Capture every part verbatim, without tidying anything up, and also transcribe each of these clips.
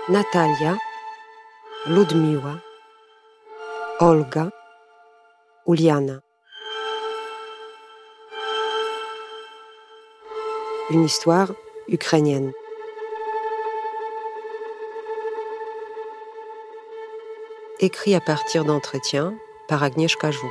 Natalia, Ludmila, Olga, Uliana. Une histoire ukrainienne. Écrit à partir d'entretiens par Agnieszka Żuk.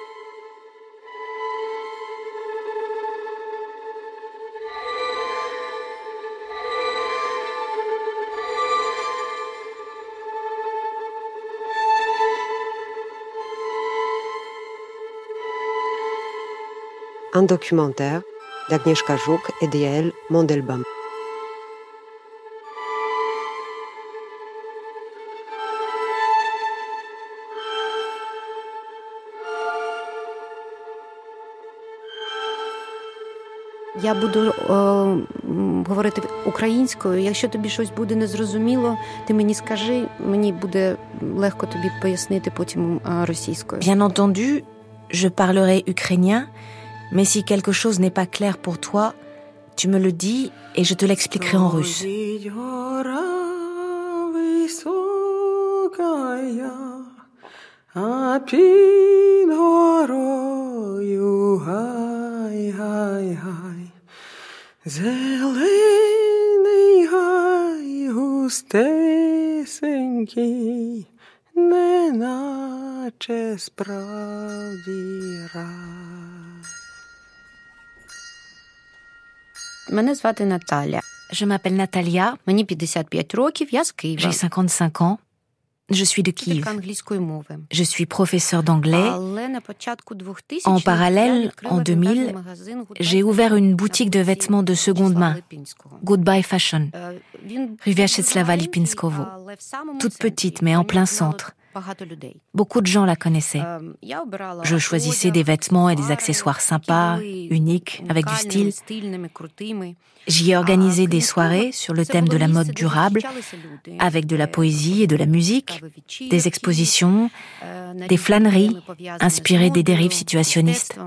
Un documentaire d'Agnieszka Żuk et d'Yael Mandelbaum. Я буду е, говорити українською. Якщо тобі щось буде незрозуміло, ти мені скажи, мені буде легко тобі пояснити потім е, російською. Bien entendu, je parlerai ukrainien, mais si quelque chose n'est pas clair pour toi, tu me le dis et je te l'expliquerai en russe. Зелений гай густесенький, неначе справді рай. Мене звати Наталя. Je m'appelle Natalia. Мені п'ятдесят п'ять років, я з Києва. J'ai cinquante-cinq ans. Je suis de Kiev. Je suis professeur d'anglais. En parallèle, en deux mille, j'ai ouvert une boutique de vêtements de seconde main, Goodbye Fashion, rue Vyacheslava-Lipinskovo. Toute petite, mais en plein centre. Beaucoup de gens la connaissaient. Je choisissais des vêtements et des accessoires sympas, uniques, avec du style. J'y ai organisé des soirées sur le thème de la mode durable, avec de la poésie et de la musique, des expositions, des flâneries inspirées des dérives situationnistes.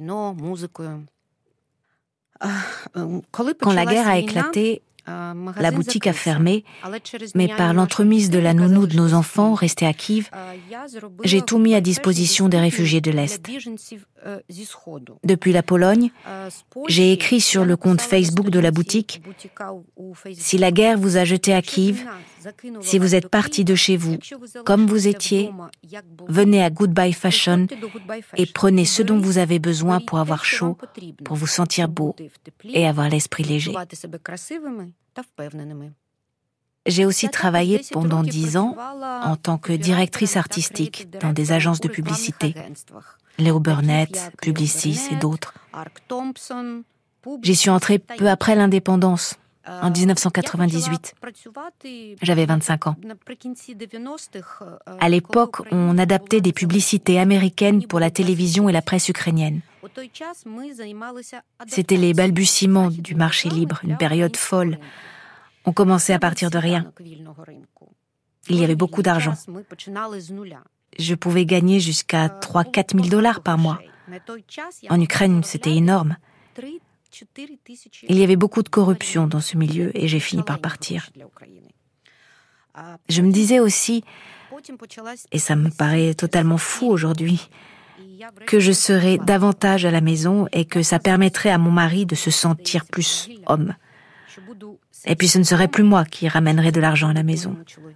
Quand la guerre a éclaté, la boutique a fermé, mais par l'entremise de la nounou de nos enfants restés à Kiev, j'ai tout mis à disposition des réfugiés de l'Est. Depuis la Pologne, j'ai écrit sur le compte Facebook de la boutique « Si la guerre vous a jeté à Kiev, si vous êtes partis de chez vous, comme vous étiez, venez à Goodbye Fashion et prenez ce dont vous avez besoin pour avoir chaud, pour vous sentir beau et avoir l'esprit léger. » J'ai aussi travaillé pendant dix ans en tant que directrice artistique dans des agences de publicité, Léo Burnett, Publicis et d'autres. J'y suis entrée peu après l'indépendance, en dix-neuf cent quatre-vingt-dix-huit. J'avais vingt-cinq ans. À l'époque, on adaptait des publicités américaines pour la télévision et la presse ukrainienne. C'était les balbutiements du marché libre, une période folle. On commençait à partir de rien. Il y avait beaucoup d'argent. Je pouvais gagner jusqu'à trois à quatre mille dollars par mois. En Ukraine, c'était énorme. Il y avait beaucoup de corruption dans ce milieu et j'ai fini par partir. Je me disais aussi, et ça me paraît totalement fou aujourd'hui, que je serais davantage à la maison et que ça permettrait à mon mari de se sentir plus homme. Et puis ce ne serait plus moi qui ramènerais de l'argent à la maison.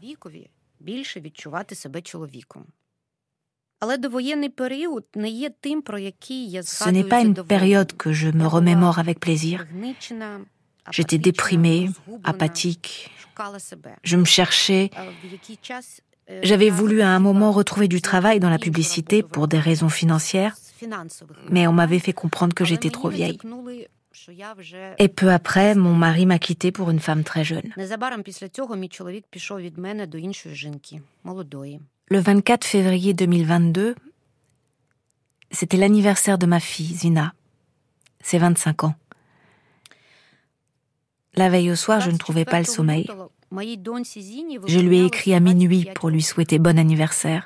Ce n'est pas une période que je me remémore avec plaisir. J'étais déprimée, apathique. Je me cherchais. J'avais voulu à un moment retrouver du travail dans la publicité pour des raisons financières, mais on m'avait fait comprendre que j'étais trop vieille. Et peu après, mon mari m'a quittée pour une femme très jeune. Le vingt-quatre février deux mille vingt-deux, c'était l'anniversaire de ma fille, Zina. C'est vingt-cinq ans. La veille au soir, je ne trouvais pas le sommeil. Je lui ai écrit à minuit pour lui souhaiter bon anniversaire.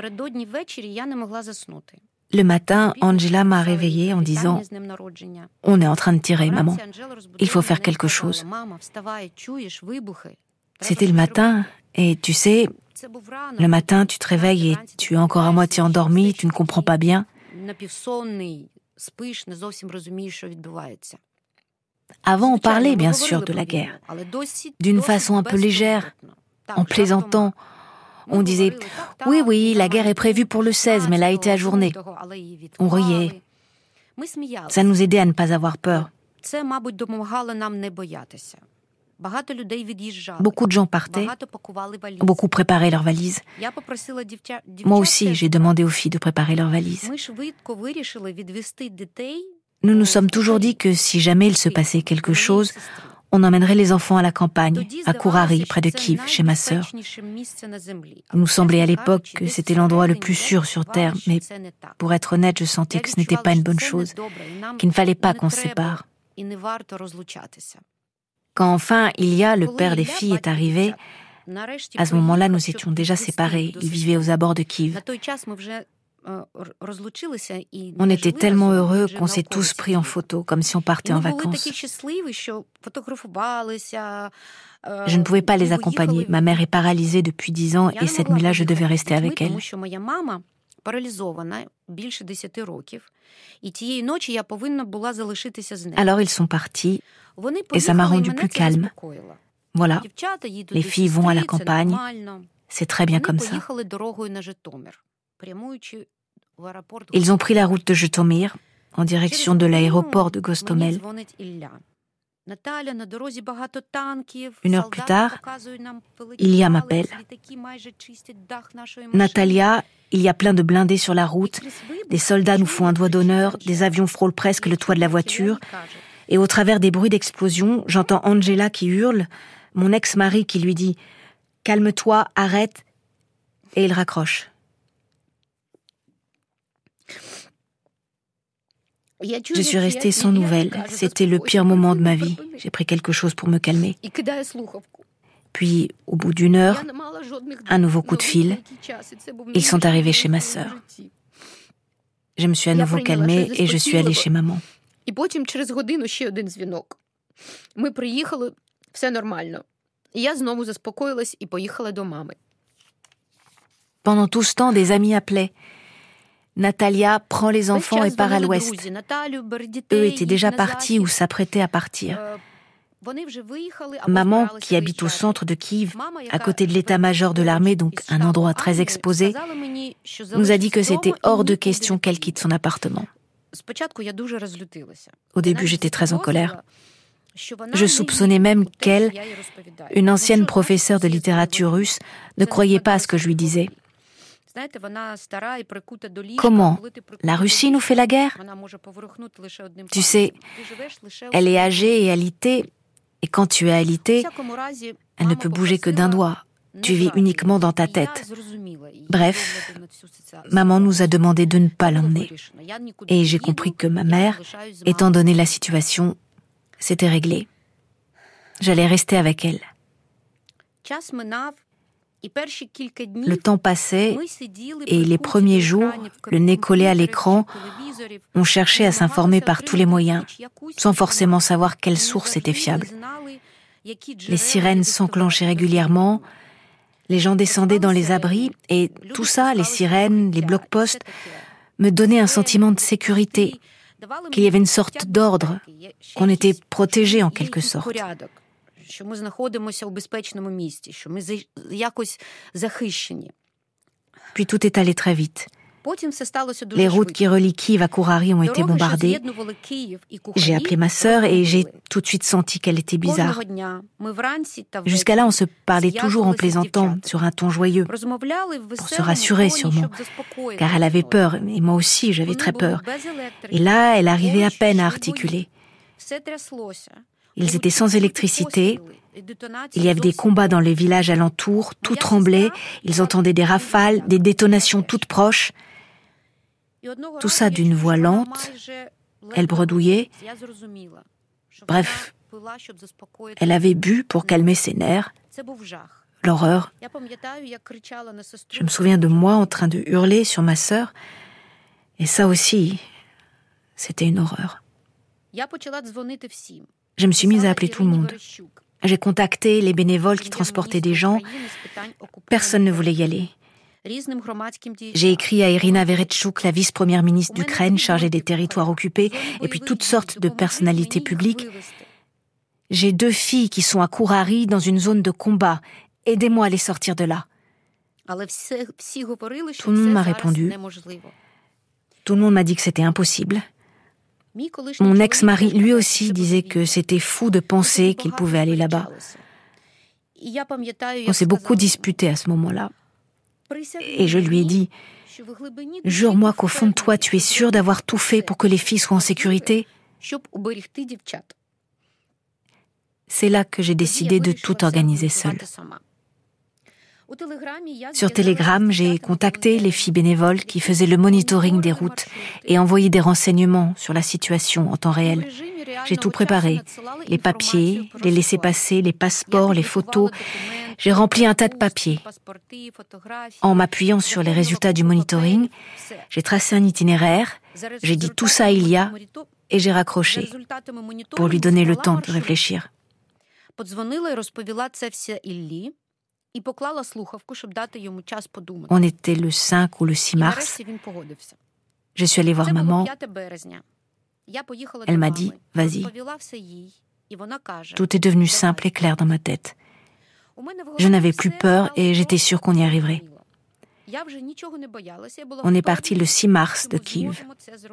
Le matin, Angela m'a réveillée en disant « On est en train de tirer, maman. Il faut faire quelque chose. » C'était le matin, et tu sais, le matin, tu te réveilles et tu es encore à moitié endormi, tu ne comprends pas bien. Avant, on parlait bien sûr de la guerre, d'une façon un peu légère, en plaisantant. On disait « Oui, oui, la guerre est prévue pour le seize, mais elle a été ajournée. » On riait. Ça nous aidait à ne pas avoir peur. Beaucoup de gens partaient, beaucoup préparaient leurs valises. Moi aussi, j'ai demandé aux filles de préparer leurs valises. Nous nous sommes toujours dit que si jamais il se passait quelque chose, on emmènerait les enfants à la campagne, à Kourari, près de Kiev, chez ma sœur. Il nous semblait à l'époque que c'était l'endroit le plus sûr sur Terre, mais pour être honnête, je sentais que ce n'était pas une bonne chose, qu'il ne fallait pas qu'on se sépare. Quand enfin Ilya, le père des filles, est arrivé, à ce moment-là, nous étions déjà séparés. Il vivait aux abords de Kiev. On était tellement heureux qu'on s'est tous pris en photo, comme si on partait en vacances. Je ne pouvais pas les accompagner. Ma mère est paralysée depuis dix ans et cette nuit-là, je devais rester avec elle. Alors ils sont partis et ça m'a rendu plus calme. Voilà, les filles vont à la campagne, c'est très bien comme ça. Ils ont pris la route de Jytomyr en direction de l'aéroport de Gostomel. Une heure plus tard, Ilya m'appelle. Natalia, il y a plein de blindés sur la route, des soldats nous font un doigt d'honneur, des avions frôlent presque le toit de la voiture, et au travers des bruits d'explosion, j'entends Angela qui hurle, mon ex-mari qui lui dit « Calme-toi, arrête », et il raccroche. Je suis restée sans nouvelles. C'était le pire moment de ma vie. J'ai pris quelque chose pour me calmer. Puis, au bout d'une heure, un nouveau coup de fil. Ils sont arrivés chez ma sœur. Je me suis à nouveau calmée et je suis allée chez maman. Pendant tout ce temps, des amis appelaient. Natalia prend les enfants et part à l'ouest. Eux étaient déjà partis ou s'apprêtaient à partir. Maman, qui habite au centre de Kiev, à côté de l'état-major de l'armée, donc un endroit très exposé, nous a dit que c'était hors de question qu'elle quitte son appartement. Au début, j'étais très en colère. Je soupçonnais même qu'elle, une ancienne professeure de littérature russe, ne croyait pas à ce que je lui disais. Comment ? La Russie nous fait la guerre ? Tu sais, elle est âgée et alitée, et quand tu es alitée, elle ne peut bouger que d'un doigt. Tu vis uniquement dans ta tête. Bref, maman nous a demandé de ne pas l'emmener. Et j'ai compris que ma mère, étant donné la situation, s'était réglée. J'allais rester avec elle. Le temps passait et les premiers jours, le nez collé à l'écran, on cherchait à s'informer par tous les moyens, sans forcément savoir quelle source était fiable. Les sirènes s'enclenchaient régulièrement, les gens descendaient dans les abris et tout ça, les sirènes, les blocs-postes, me donnaient un sentiment de sécurité, qu'il y avait une sorte d'ordre, qu'on était protégé en quelque sorte. Puis tout est allé très vite. Les routes qui relient Kiev à Kourari ont été bombardées. J'ai appelé ma sœur et j'ai tout de suite senti qu'elle était bizarre. Jusqu'à là, on se parlait toujours en plaisantant, sur un ton joyeux, pour se rassurer sûrement, car elle avait peur, et moi aussi j'avais très peur. Et là, elle arrivait à peine à articuler. Ils étaient sans électricité, il y avait des combats dans les villages alentours, tout tremblait, ils entendaient des rafales, des détonations toutes proches. Tout ça d'une voix lente, elle bredouillait. Bref, elle avait bu pour calmer ses nerfs. L'horreur. Je me souviens de moi en train de hurler sur ma sœur, et ça aussi, c'était une horreur. Je me suis mise à appeler tout le monde. J'ai contacté les bénévoles qui transportaient des gens. Personne ne voulait y aller. J'ai écrit à Irina Vereshchuk, la vice-première ministre d'Ukraine chargée des territoires occupés, et puis toutes sortes de personnalités publiques. J'ai deux filles qui sont à Kourari dans une zone de combat. Aidez-moi à les sortir de là. Tout le monde m'a répondu. Tout le monde m'a dit que c'était impossible. Mon ex-mari, lui aussi, disait que c'était fou de penser qu'il pouvait aller là-bas. On s'est beaucoup disputé à ce moment-là. Et je lui ai dit, « Jure-moi qu'au fond de toi, tu es sûr d'avoir tout fait pour que les filles soient en sécurité. » C'est là que j'ai décidé de tout organiser seule. Sur Telegram, j'ai contacté les filles bénévoles qui faisaient le monitoring des routes et envoyé des renseignements sur la situation en temps réel. J'ai tout préparé, les papiers, les laissez-passer, les passeports, les photos. J'ai rempli un tas de papiers. En m'appuyant sur les résultats du monitoring, j'ai tracé un itinéraire, j'ai dit tout ça il y a et j'ai raccroché pour lui donner le temps de réfléchir. On était le cinq ou le six mars. Je suis allée voir maman. Elle m'a dit, vas-y. Tout est devenu simple et clair dans ma tête. Je n'avais plus peur et j'étais sûre qu'on y arriverait. On est parti le six mars de Kiev.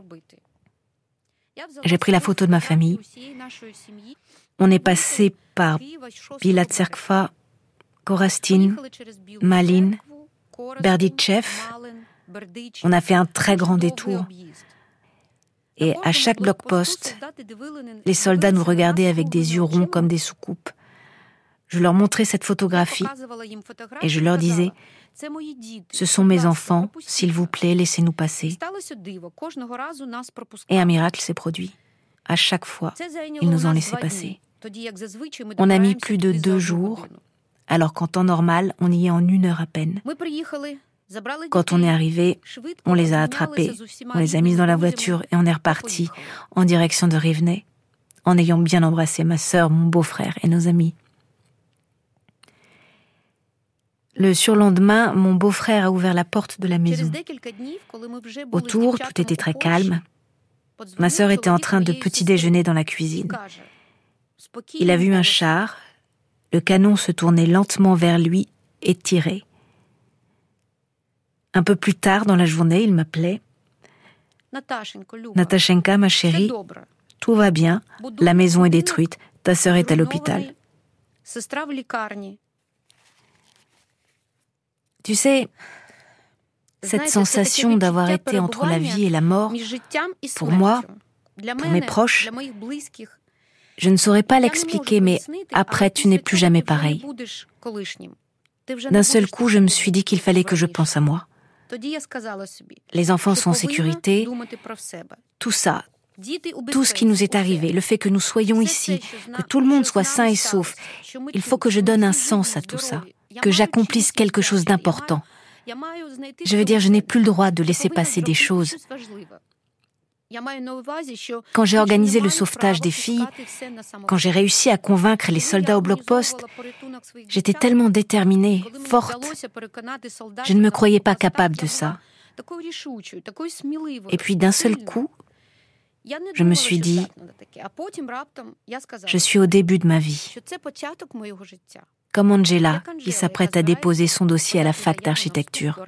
J'ai pris la photo de ma famille. On est passé par Bila Tserkva, Korastin, Malin, Berdichev. On a fait un très grand détour. Et à chaque bloc-poste, les soldats nous regardaient avec des yeux ronds comme des soucoupes. Je leur montrais cette photographie et je leur disais « Ce sont mes enfants, s'il vous plaît, laissez-nous passer. » Et un miracle s'est produit. À chaque fois, ils nous ont laissé passer. On a mis plus de deux jours, alors qu'en temps normal, on y est en une heure à peine. Quand on est arrivé, on les a attrapés, on les a mis dans la voiture et on est reparti en direction de Rivne, en ayant bien embrassé ma sœur, mon beau-frère et nos amis. Le surlendemain, mon beau-frère a ouvert la porte de la maison. Autour, tout était très calme. Ma sœur était en train de petit déjeuner dans la cuisine. Il a vu un char, le canon se tournait lentement vers lui et tirait. Un peu plus tard dans la journée, il m'appelait. « Natashenka, ma chérie, tout va bien, la maison est détruite, ta sœur est à l'hôpital. » Tu sais, cette sensation d'avoir été entre la vie et la mort, pour moi, pour mes proches, je ne saurais pas l'expliquer, mais après, tu n'es plus jamais pareil. D'un seul coup, je me suis dit qu'il fallait que je pense à moi. Les enfants sont en sécurité, tout ça, tout ce qui nous est arrivé, le fait que nous soyons ici, que tout le monde soit sain et sauf, il faut que je donne un sens à tout ça, que j'accomplisse quelque chose d'important. Je veux dire, je n'ai plus le droit de laisser passer des choses. Quand j'ai organisé le sauvetage des filles, quand j'ai réussi à convaincre les soldats au bloc-poste, j'étais tellement déterminée, forte. Je ne me croyais pas capable de ça. Et puis d'un seul coup, je me suis dit, je suis au début de ma vie. Comme Angela, qui s'apprête à déposer son dossier à la fac d'architecture.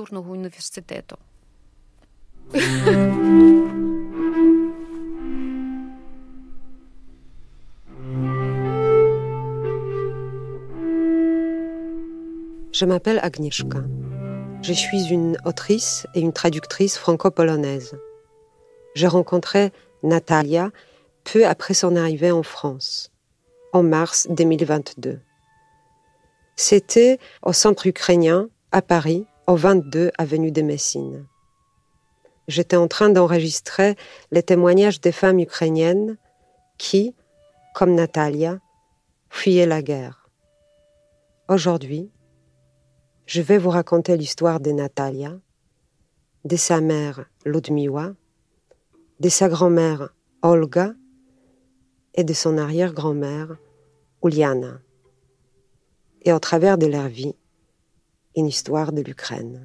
Je m'appelle Agnieszka. Je suis une autrice et une traductrice franco-polonaise. J'ai rencontré Natalia peu après son arrivée en France, en mars deux mille vingt-deux. C'était au centre ukrainien, à Paris, au vingt-deux avenue de Messine. J'étais en train d'enregistrer les témoignages des femmes ukrainiennes qui, comme Natalia, fuyaient la guerre. Aujourd'hui, je vais vous raconter l'histoire de Natalia, de sa mère Ludmiła, de sa grand-mère Olga et de son arrière-grand-mère Uliana. Et au travers de leur vie, une histoire de l'Ukraine.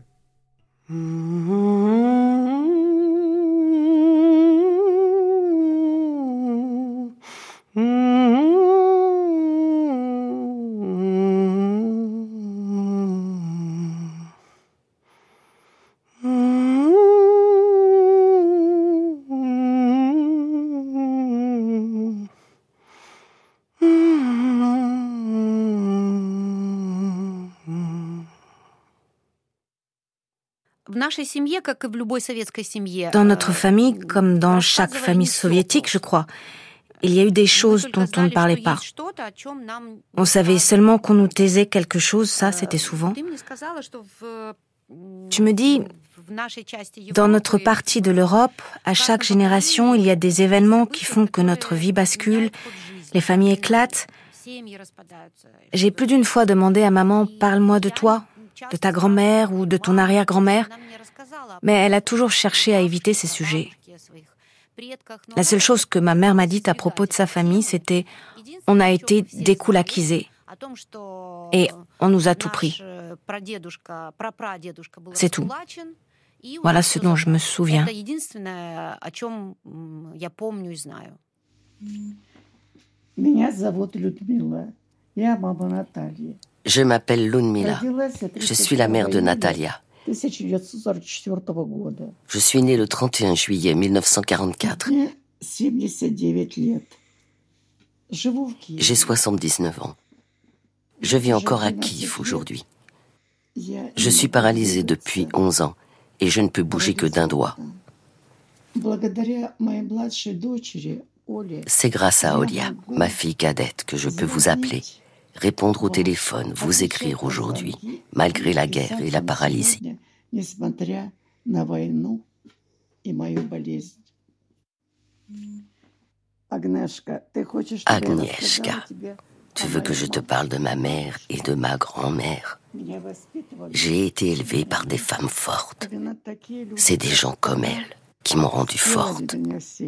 Dans notre famille, comme dans chaque famille soviétique, je crois, il y a eu des choses dont on ne parlait pas. On savait seulement qu'on nous taisait quelque chose, ça c'était souvent. Tu me dis, dans notre partie de l'Europe, à chaque génération, il y a des événements qui font que notre vie bascule, les familles éclatent. J'ai plus d'une fois demandé à maman, parle-moi de toi, de ta grand-mère ou de ton arrière-grand-mère, mais elle a toujours cherché à éviter ces sujets. La seule chose que ma mère m'a dite à propos de sa famille, c'était « on a été découlakisés et on nous a tout pris ». C'est tout. Voilà ce dont je me souviens. Je m'appelle Ludmila. Je suis la mère de Natalia. Je suis née le trente et un juillet mille neuf cent quarante-quatre. J'ai soixante-dix-neuf ans. Je vis encore à Kiev aujourd'hui. Je suis paralysée depuis onze ans et je ne peux bouger que d'un doigt. C'est grâce à Olia, ma fille cadette, que je peux vous appeler, répondre au téléphone, vous écrire aujourd'hui, malgré la guerre et la paralysie. Agnieszka, tu veux que je te parle de ma mère et de ma grand-mère? J'ai été élevée par des femmes fortes. C'est des gens comme elles qui m'ont rendue forte.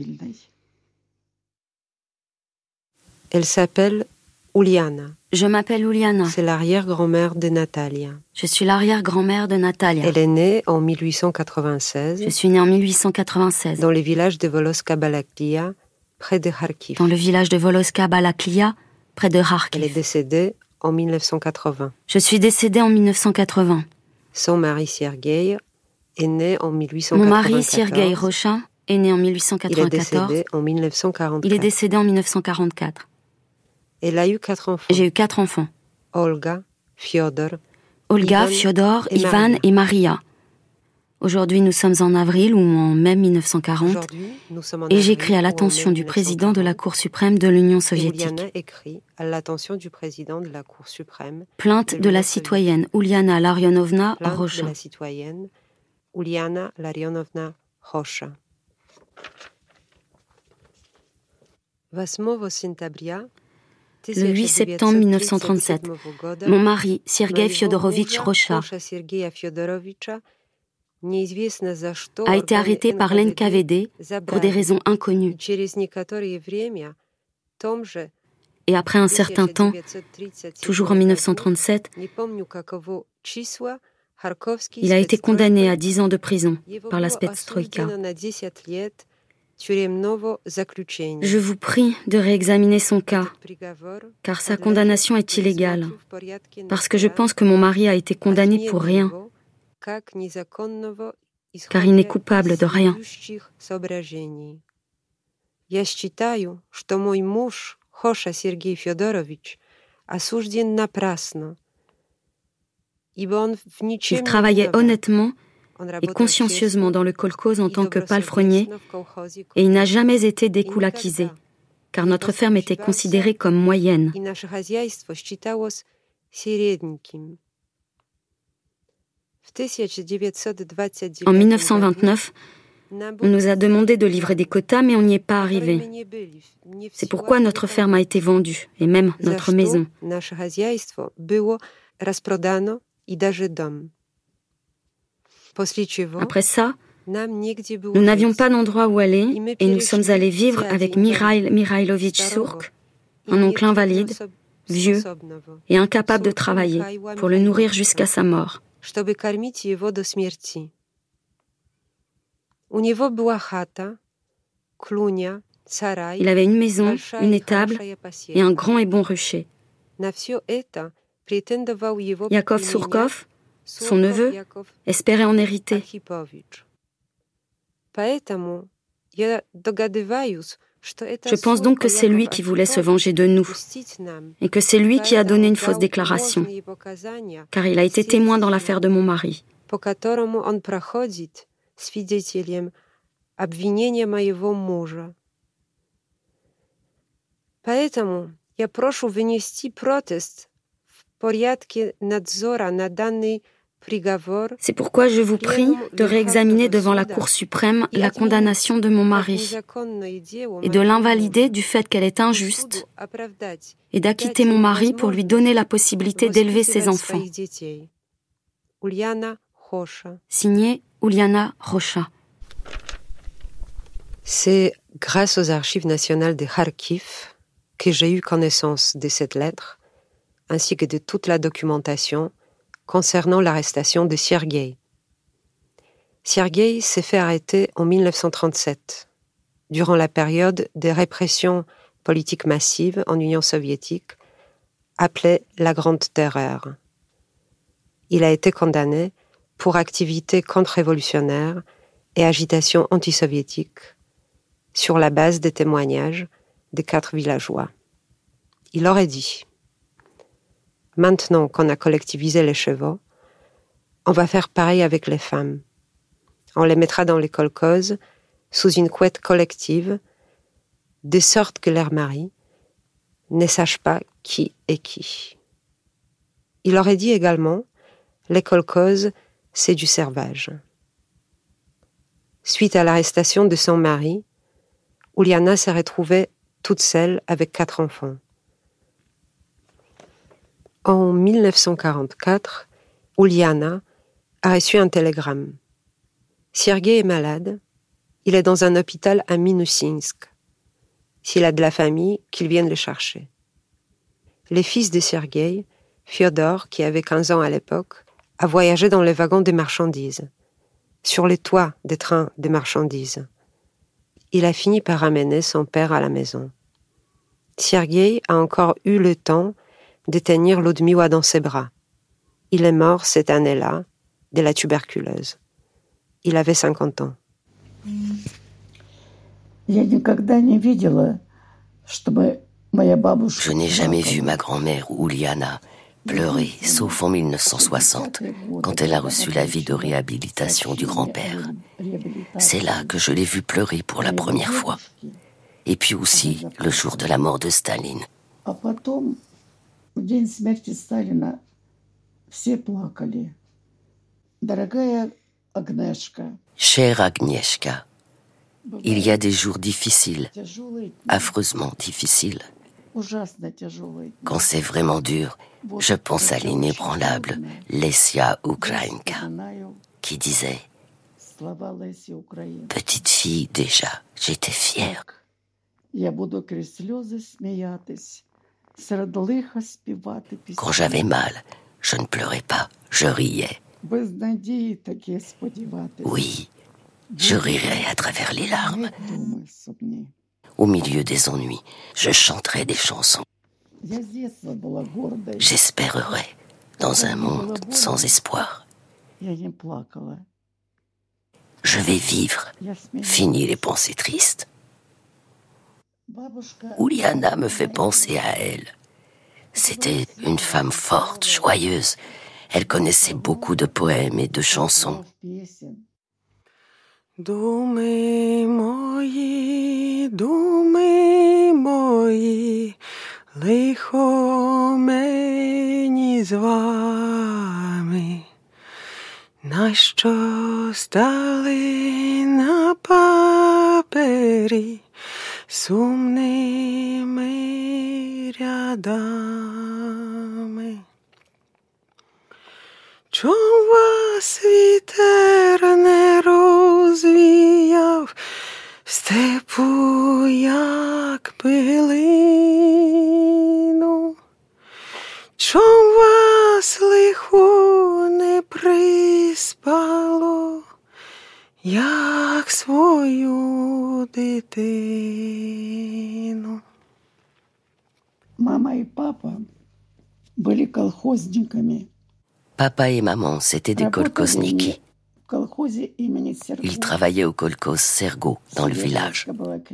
Elle s'appelle Uliana. Je m'appelle Uliana. C'est l'arrière-grand-mère de Natalia. Je suis l'arrière-grand-mère de Natalia. Elle est née en mille huit cent quatre-vingt-seize. Je suis née en mille huit cent quatre-vingt-seize. Dans le village de Voloska-Balaklia, près de Kharkiv. Dans le village de Voloska-Balaklia, près de Kharkiv. Elle est décédée en mille neuf cent quatre-vingts. Je suis décédée en mille neuf cent quatre-vingts. Son mari Sergueï est né en mille huit cent quatre-vingt-quatorze. Mon mari Sergueï Rochin est né en mille huit cent quatre-vingt-quatorze. Il est décédé en mille neuf cent quarante-quatre. Il est décédé en mille neuf cent quarante-quatre. Elle a eu quatre enfants. J'ai eu quatre enfants. Olga, Fyodor, Olga, Ivan, Fyodor, et Ivan Maria. et Maria. Aujourd'hui, nous sommes en avril ou en mai mille neuf cent quarante et j'écris à l'attention du président de la Cour suprême de l'Union soviétique. Uliana écrit à l'attention du président de la Cour suprême. Plainte de, de la citoyenne Uliana Larionovna Plainte Rocha. de la citoyenne Uliana Larionovna Rocha. Le huit septembre mille neuf cent trente-sept, mon mari, Sergueï Fyodorovitch Rocha, a été arrêté par l'N K V D pour des raisons inconnues. Et après un certain temps, toujours en mille neuf cent trente-sept, il a été condamné à dix ans de prison par la Spetstroïka. Je vous prie de réexaminer son cas, car sa condamnation est illégale, parce que je pense que mon mari a été condamné pour rien, car il n'est coupable de rien. Я считаю, что мой муж, Хоша Сергей Фёдорович, осужден напрасно. Il travaillait honnêtement et consciencieusement dans le kolkhoz en tant que palefrenier, et il n'a jamais été découlakisé, car notre ferme était considérée comme moyenne. En mille neuf cent vingt-neuf, on nous a demandé de livrer des quotas, mais on n'y est pas arrivé. C'est pourquoi notre ferme a été vendue, et même notre maison. Après ça, nous n'avions pas d'endroit où aller et nous sommes allés vivre avec Mikhail Mikhailovitch Surk, un oncle invalide, vieux et incapable de travailler pour le nourrir jusqu'à sa mort. Il avait une maison, une étable et un grand et bon rucher. Yakov Surkov, son neveu, espérait en hériter. Je pense donc que c'est lui qui voulait se venger de nous et que c'est lui qui a donné une fausse déclaration, car il a été témoin dans l'affaire de mon mari. Поэтому я прошу вынести протест в порядке надзора на данный приговор. C'est pourquoi je vous prie de réexaminer devant la Cour suprême la condamnation de mon mari et de l'invalider du fait qu'elle est injuste et d'acquitter mon mari pour lui donner la possibilité d'élever ses enfants. Signé Uliana Rocha. C'est grâce aux archives nationales de Kharkiv que j'ai eu connaissance de cette lettre, ainsi que de toute la documentation concernant l'arrestation de Sergueï. Sergueï s'est fait arrêter en mille neuf cent trente-sept, durant la période des répressions politiques massives en Union soviétique, appelée la Grande Terreur. Il a été condamné pour activité contre-révolutionnaire et agitation anti-soviétique, sur la base des témoignages des quatre villageois. Il aurait dit: maintenant qu'on a collectivisé les chevaux, on va faire pareil avec les femmes. On les mettra dans les kolkhozes sous une couette collective, de sorte que leurs maris ne sachent pas qui est qui. Il aurait dit également: les kolkhozes, c'est du servage. Suite à l'arrestation de son mari, Uliana s'est retrouvée toute seule avec quatre enfants. En mille neuf cent quarante-quatre, Uliana a reçu un télégramme. Sergueï est malade, il est dans un hôpital à Minousinsk. S'il a de la famille, qu'il vienne le chercher. Les fils de Sergueï, Fyodor, qui avait quinze ans à l'époque, a voyagé dans les wagons de marchandises, sur les toits des trains de marchandises. Il a fini par ramener son père à la maison. Sergueï a encore eu le temps de tenir Ludmiła dans ses bras. Il est mort cette année-là de la tuberculose. Il avait cinquante ans. Je n'ai jamais vu ma grand-mère Uliana pleurer, sauf en mille neuf cent soixante, quand elle a reçu l'avis de réhabilitation du grand-père. C'est là que je l'ai vue pleurer pour la première fois. Et puis aussi, le jour de la mort de Staline. Chère Agnieszka, il y a des jours difficiles, affreusement difficiles. Quand c'est vraiment dur, je pense à l'inébranlable Lesia Ukrainka, qui disait: petite fille déjà, j'étais fière. Quand j'avais mal, je ne pleurais pas, je riais. Oui, je rirais à travers les larmes. Au milieu des ennuis, je chanterai des chansons. J'espérerai dans un monde sans espoir. Je vais vivre, fini les pensées tristes. Uliana me fait penser à elle. C'était une femme forte, joyeuse. Elle connaissait beaucoup de poèmes et de chansons. Думи мої, думи мої, лихо мені з вами, нащо стали на папері сумними рядами? Чом вас вітер не розвіяв в степу, як пилину? як свою дитину. Мама и папа были колхозниками. Papa et maman, c'était des kolkhozniki. Ils travaillaient au kolkhoz Sergo, dans le village.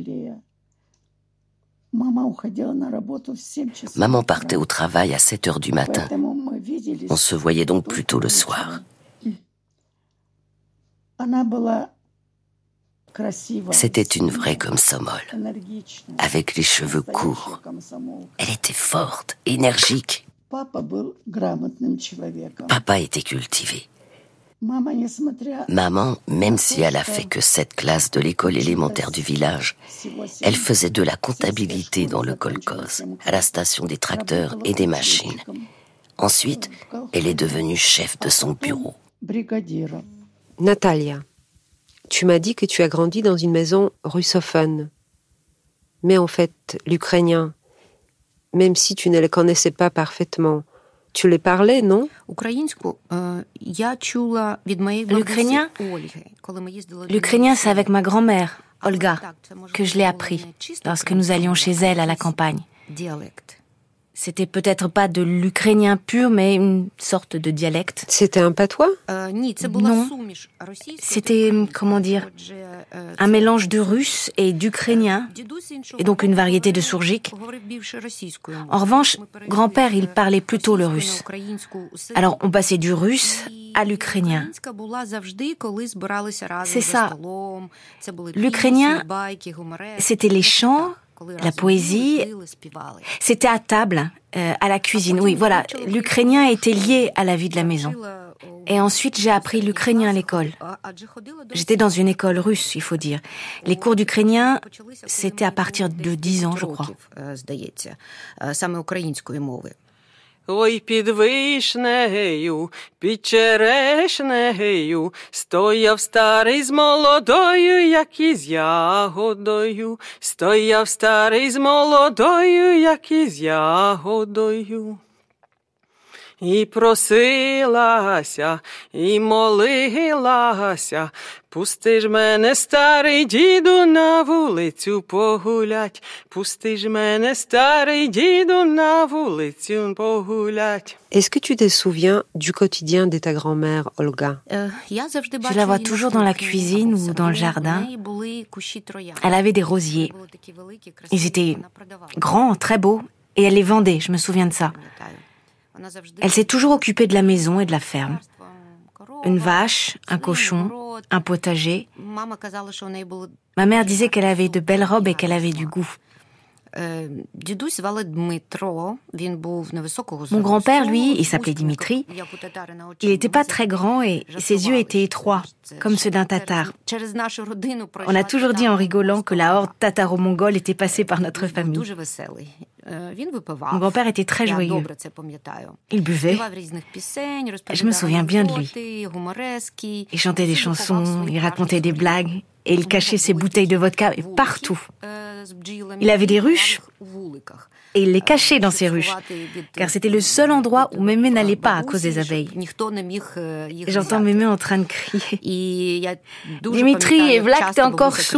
Maman partait au travail à sept heures du matin. On se voyait donc plutôt le soir. C'était une vraie komsomol, avec les cheveux courts. Elle était forte, énergique. Papa était cultivé. Maman, même si elle a fait que sept classes de l'école élémentaire du village, elle faisait de la comptabilité dans le kolkhoz, à la station des tracteurs et des machines. Ensuite, elle est devenue chef de son bureau. Natalia, tu m'as dit que tu as grandi dans une maison russophone. Mais en fait, l'ukrainien, même si tu ne le connaissais pas parfaitement, tu les parlais, non? L'ukrainien, l'ukrainien, c'est avec ma grand-mère, Olga, que je l'ai appris lorsque nous allions chez elle à la campagne. C'était peut-être pas de l'ukrainien pur, mais une sorte de dialecte. C'était un patois? Non. C'était, comment dire, un mélange de russe et d'ukrainien, et donc une variété de sourgique. En revanche, grand-père, il parlait plutôt le russe. Alors, on passait du russe à l'ukrainien. C'est ça. L'ukrainien, c'était les chants, la poésie, c'était à table, euh, à la cuisine. Oui, voilà, l'ukrainien était lié à la vie de la maison. Et ensuite, j'ai appris l'ukrainien à l'école. J'étais dans une école russe, il faut dire. Les cours d'ukrainien, c'était à partir de dix ans, je crois. Ой, під вишнею, під черешнею, стояв старий з молодою, як із ягодою. Стояв старий з молодою, як із ягодою. І просилася, і молилася, пусти ж мене, старий діду, на вулицю погулять. Пусти ж мене, старий діду, на вулицю погулять. Est-ce que tu te souviens du quotidien de ta grand-mère, Olga? Je la vois toujours dans la cuisine ou dans le jardin. Elle avait des rosiers. Ils étaient grands, très beaux, et elle les vendait, je me souviens de ça. Elle s'est toujours occupée de la maison et de la ferme. Une vache, un cochon, un potager. Ma mère disait qu'elle avait de belles robes et qu'elle avait du goût. Mon grand-père, lui, il s'appelait Dimitri. Il n'était pas très grand et ses yeux étaient étroits, comme ceux d'un tatar. On a toujours dit en rigolant que la horde tataro-mongole était passée par notre famille. Mon grand-père était très joyeux. Il buvait. Je me souviens bien de lui. Il chantait des chansons, il racontait des blagues et il cachait ses bouteilles de vodka partout. Il avait des ruches et il les cachait dans ses ruches, car c'était le seul endroit où mémé n'allait pas à cause des abeilles. Et j'entends mémé en train de crier. Dimitri, et Vlak, t'es encore sous.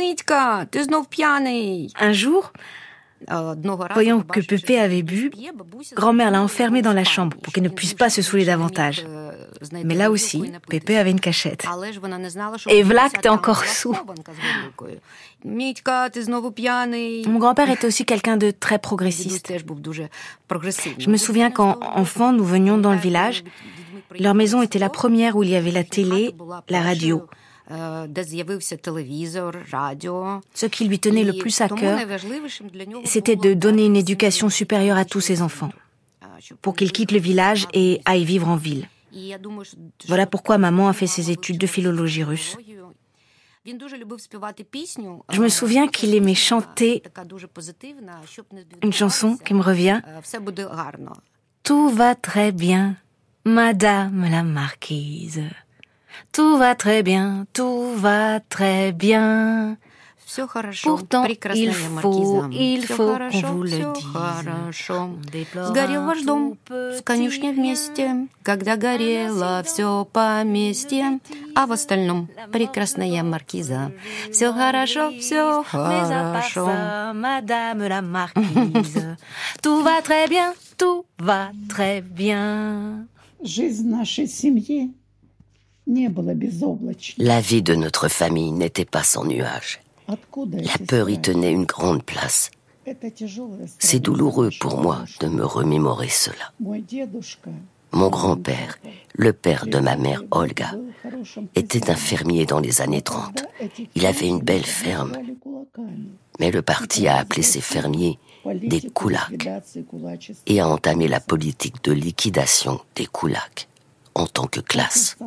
Un jour, voyant que Pépé avait bu, grand-mère l'a enfermé dans la chambre pour qu'il ne puisse pas se saouler davantage. Mais là aussi, Pépé avait une cachette. Et Vlak, t'es encore sous. Mon grand-père était aussi quelqu'un de très progressiste. Je me souviens quand, enfant, nous venions dans le village, leur maison était la première où il y avait la télé, la radio. Ce qui lui tenait le plus à cœur, c'était de donner une éducation supérieure à tous ses enfants, pour qu'ils quittent le village et aillent vivre en ville. Voilà pourquoi maman a fait ses études de philologie russe. Je me souviens qu'il aimait chanter une chanson qui me revient. Tout va très bien, Madame la Marquise. Tout va très bien, tout va très bien. Pourtant, il faut, il faut qu'on vous le dise. Сгорел ваш дом с конюшней вместе, когда горело все поместье, а в остальном прекрасная маркиза. Все хорошо, все хорошо. Madame la marquise, tout va très bien, tout va très bien. Жизнь нашей семьи не была безоблачной. La vie de notre famille n'était pas sans nuages. La peur y tenait une grande place. C'est douloureux pour moi de me remémorer cela. Mon grand-père, le père de ma mère Olga, était un fermier dans les années trente. Il avait une belle ferme, mais le parti a appelé ses fermiers des koulaks et a entamé la politique de liquidation des koulaks en tant que classe.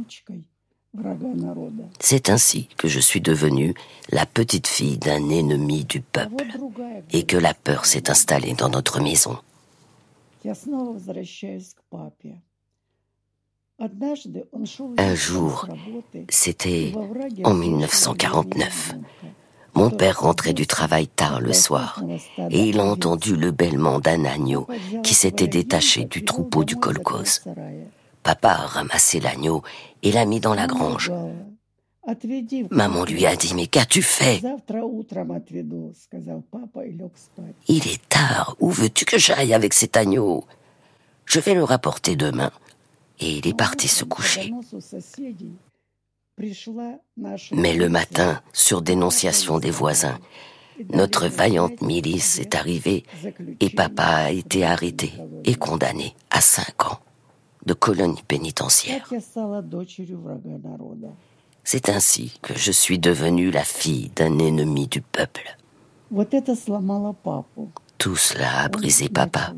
C'est ainsi que je suis devenue la petite fille d'un ennemi du peuple et que la peur s'est installée dans notre maison. Un jour, c'était en mille neuf cent quarante-neuf, mon père rentrait du travail tard le soir et il a entendu le bêlement d'un agneau qui s'était détaché du troupeau du kolkhoz. Papa a ramassé l'agneau et l'a mis dans la grange. Maman lui a dit « Mais qu'as-tu fait ?»« Il est tard, où veux-tu que j'aille avec cet agneau ? Je vais le rapporter demain. » Et il est parti se coucher. Mais le matin, sur dénonciation des voisins, notre vaillante milice est arrivée et papa a été arrêté et condamné à cinq ans de colonie pénitentiaire. C'est ainsi que je suis devenue la fille d'un ennemi du peuple. Tout cela a brisé papa.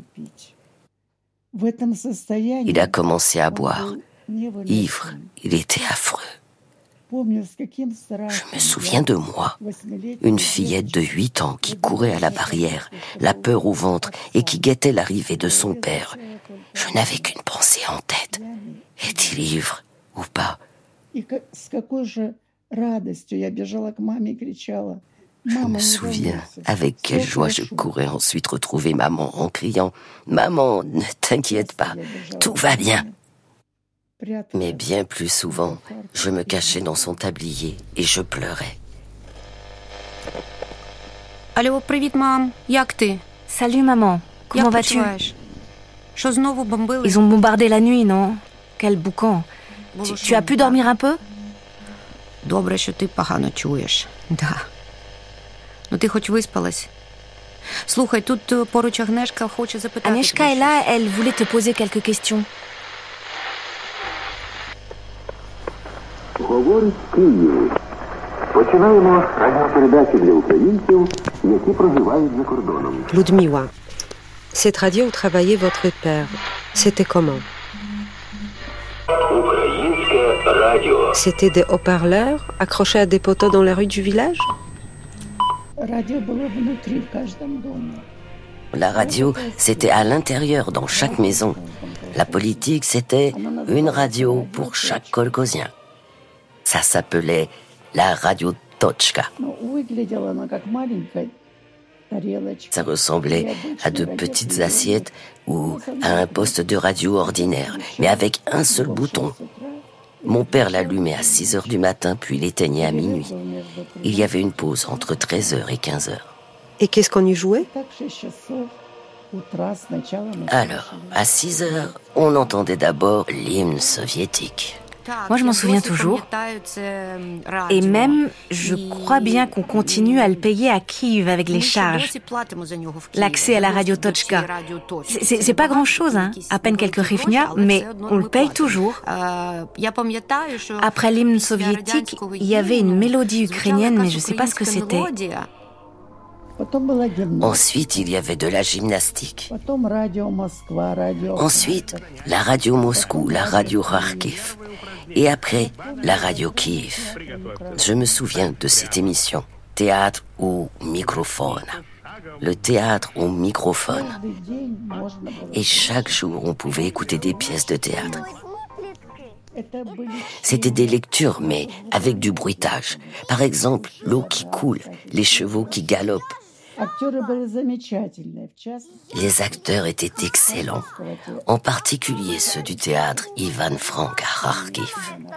Il a commencé à boire. Ivre, il était affreux. Je me souviens de moi, une fillette de huit ans qui courait à la barrière, la peur au ventre et qui guettait l'arrivée de son père. Je n'avais qu'une pensée en tête. Est-il ivre ou pas ? Je me souviens avec quelle joie je courais ensuite retrouver maman en criant « Maman, ne t'inquiète pas, tout va bien !» Mais bien plus souvent, je me cachais dans son tablier et je pleurais. Allô, привіт, мам. Як ти? Salut maman, comment Як vas-tu? почуваєш? Що знову бомбили? Ils ont bombardé la nuit, non? Quel boucan. Tu, tu as pu dormir un peu? Добре, що ти погано чуєш. Да. Ну ти хоч виспалась? Слухай, тут поруч Агнешка хоче запитати. Agnieszka est là, elle voulait te poser quelques questions. Говорить Київ. Починаємо радіопередачу для українців, які проживають за кордоном. Ludmiła, cette radio où travaillait votre père, c'était comment? Українське радіо. C'était des haut-parleurs accrochés à des poteaux dans la rue du village? La radio, c'était à l'intérieur, dans chaque maison. La politique, c'était une radio pour chaque kolkhozien. Ça s'appelait la radio Tochka. Ça ressemblait à de petites assiettes ou à un poste de radio ordinaire, mais avec un seul bouton. Mon père l'allumait à six heures du matin, puis l'éteignait à minuit. Il y avait une pause entre treize heures et quinze heures. Et qu'est-ce qu'on y jouait? Alors, à six heures, on entendait d'abord l'hymne soviétique. Moi, je m'en souviens toujours. Et même, je crois bien qu'on continue à le payer à Kiev avec les charges. L'accès à la radio Tochka. C'est, c'est, c'est pas grand-chose, hein. À peine quelques hryvnia, mais on le paye toujours. Après l'hymne soviétique, il y avait une mélodie ukrainienne, mais je sais pas ce que c'était. Ensuite, il y avait de la gymnastique. Ensuite, la radio Moscou, la radio Kharkiv. Et après, la radio Kiev. Je me souviens de cette émission, Théâtre au microphone. Le théâtre au microphone. Et chaque jour, on pouvait écouter des pièces de théâtre. C'était des lectures, mais avec du bruitage. Par exemple, l'eau qui coule, les chevaux qui galopent. Les acteurs étaient excellents, en particulier ceux du théâtre Ivan Frank à Kharkiv.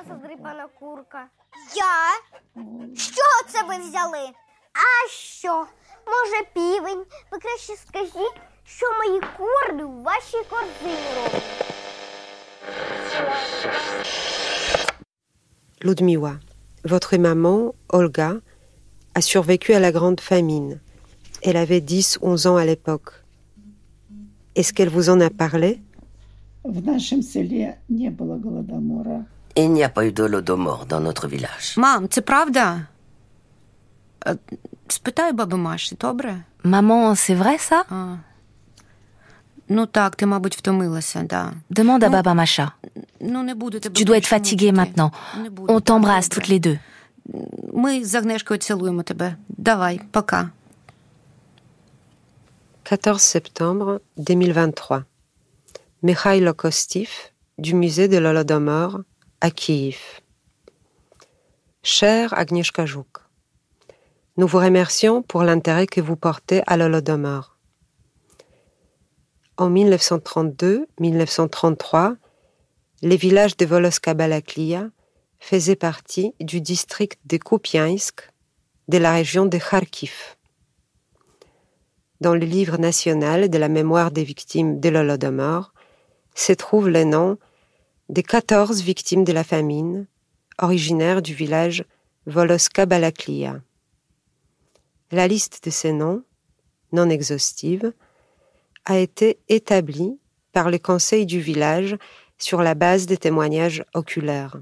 Ludmiła, votre maman, Olga, a survécu à la grande famine. Elle avait dix onze ans à l'époque. Est-ce qu'elle vous en a parlé? Il n'y a pas eu d'Holodomor dans notre village. Мам, це правда? Спитай баби Маші, добре? Maman, c'est vrai ça? А. Ну так, ти, мабуть, втомилася, да. Demande à Baba Masha. Ну, не буду тебе Tu dois être fatiguée maintenant. On t'embrasse toutes les deux. Ми з Агнешкою цілуємо тебе. Давай, пока. quatorze septembre deux mille vingt-trois. Mikhailo Kostiv, du musée de l'Holodomor, à Kiev. Chère Agnieszka Żuk, nous vous remercions pour l'intérêt que vous portez à l'Holodomor. En mille neuf cent trente-deux mille neuf cent trente-trois, les villages de Voloska-Balaklia faisaient partie du district de Kupiansk de la région de Kharkiv. Dans le livre national de la mémoire des victimes de l'Holodomor se trouvent les noms des quatorze victimes de la famine, originaires du village Voloska-Balaklia. La liste de ces noms, non exhaustive, a été établie par le conseil du village sur la base des témoignages oculaires.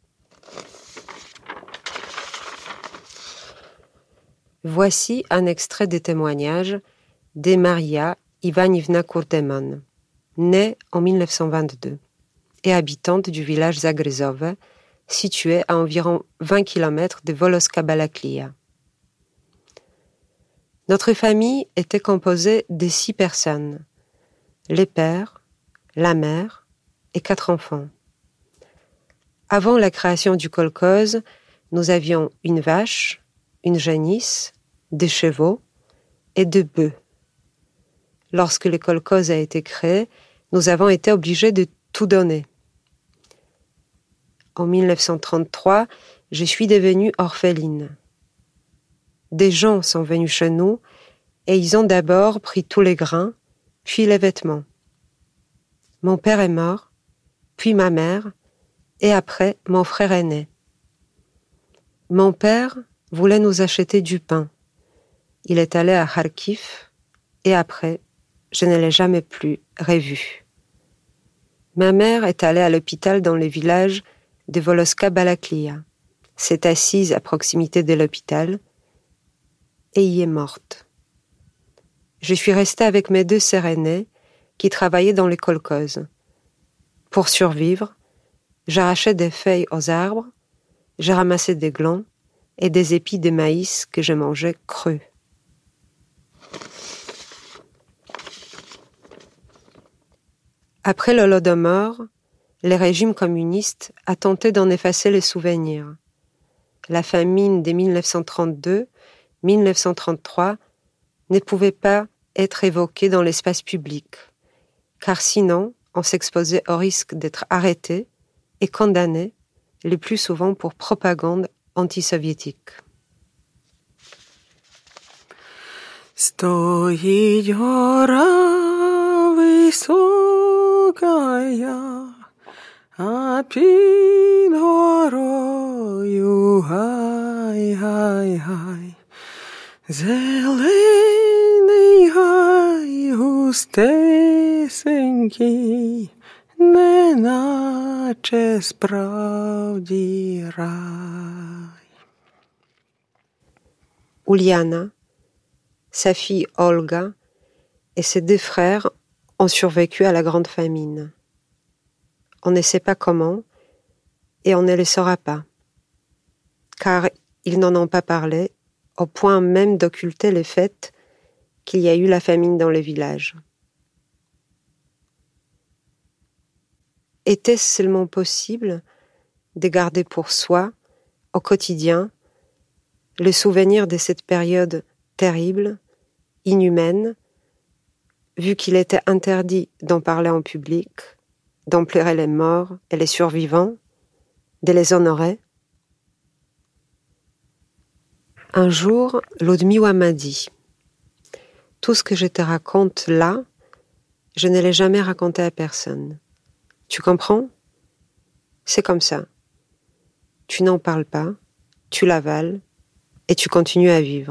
Voici un extrait des témoignages de Maria Ivanivna Kurdemon, née en mille neuf cent vingt-deux et habitante du village Zagrzove, situé à environ vingt kilomètres de Voloska-Balaklia. Notre famille était composée de six personnes, les pères, la mère et quatre enfants. Avant la création du kolkhoz, nous avions une vache, une génisse, des chevaux et deux bœufs. Lorsque le kolkhoz a été créé, nous avons été obligés de tout donner. En mille neuf cent trente-trois, je suis devenue orpheline. Des gens sont venus chez nous et ils ont d'abord pris tous les grains, puis les vêtements. Mon père est mort, puis ma mère, et après mon frère aîné. Mon père voulait nous acheter du pain. Il est allé à Kharkiv et après, je ne l'ai jamais plus revu. Ma mère est allée à l'hôpital dans le village de Voloska-Balaklia, s'est assise à proximité de l'hôpital et y est morte. Je suis restée avec mes deux sœurs aînées qui travaillaient dans les kolkhozes. Pour survivre, j'arrachais des feuilles aux arbres, j'ai ramassé des glands et des épis de maïs que je mangeais crus. Après l'Holodomor, le régime communiste a tenté d'en effacer les souvenirs. La famine de mille neuf cent trente-deux mille neuf cent trente-trois ne pouvait pas être évoquée dans l'espace public, car sinon on s'exposait au risque d'être arrêté et condamné, le plus souvent pour propagande antisoviétique. Стоїть гора високая, а під горою гай-гай-гай. Зелений гай густесенький, неначе справді рай. Uliana, sa fille Olga et ses deux frères ont survécu à la grande famine. On ne sait pas comment et on ne le saura pas, car ils n'en ont pas parlé au point même d'occulter le fait qu'il y a eu la famine dans le village. Était-ce seulement possible de garder pour soi, au quotidien, le souvenir de cette période terrible, inhumaine, vu qu'il était interdit d'en parler en public, d'en pleurer les morts et les survivants, de les honorer. Un jour, Ludmiła m'a dit « Tout ce que je te raconte là, je ne l'ai jamais raconté à personne. Tu comprends ? C'est comme ça. Tu n'en parles pas, tu l'avales et tu continues à vivre. »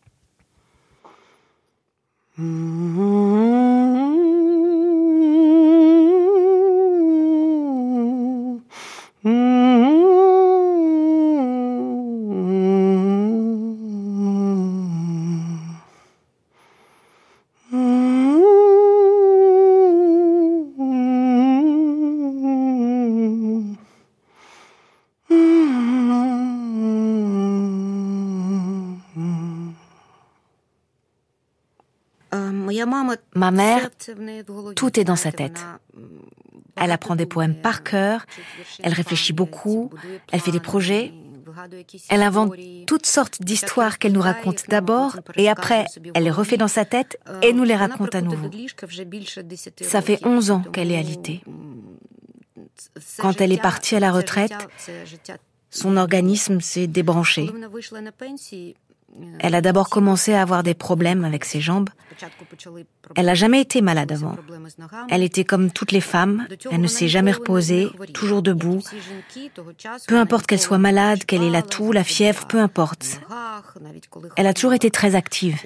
Ma mère, tout est dans sa tête. Elle apprend des poèmes par cœur, elle réfléchit beaucoup, elle fait des projets, elle invente toutes sortes d'histoires qu'elle nous raconte d'abord et après, elle les refait dans sa tête et nous les raconte à nouveau. Ça fait onze ans qu'elle est alitée. Quand elle est partie à la retraite, son organisme s'est débranché. Elle a d'abord commencé à avoir des problèmes avec ses jambes. Elle n'a jamais été malade avant. Elle était comme toutes les femmes, elle ne s'est jamais reposée, toujours debout. Peu importe qu'elle soit malade, qu'elle ait la toux, la fièvre, peu importe. Elle a toujours été très active.